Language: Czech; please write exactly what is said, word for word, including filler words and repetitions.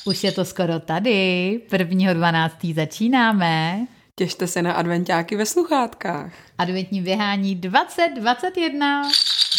Už je to skoro tady, prvního dvanáctého začínáme. Těšte se na adventáky ve sluchátkách. Adventní běhání dvacet dvacet jedna.